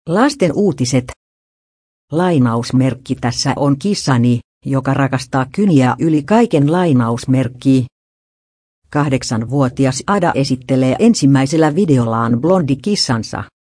Lasten uutiset. Lainausmerkki tässä on kissani, joka rakastaa kyniä yli kaiken lainausmerkki. 8-vuotias Ada esittelee ensimmäisellä videollaan blondikissansa.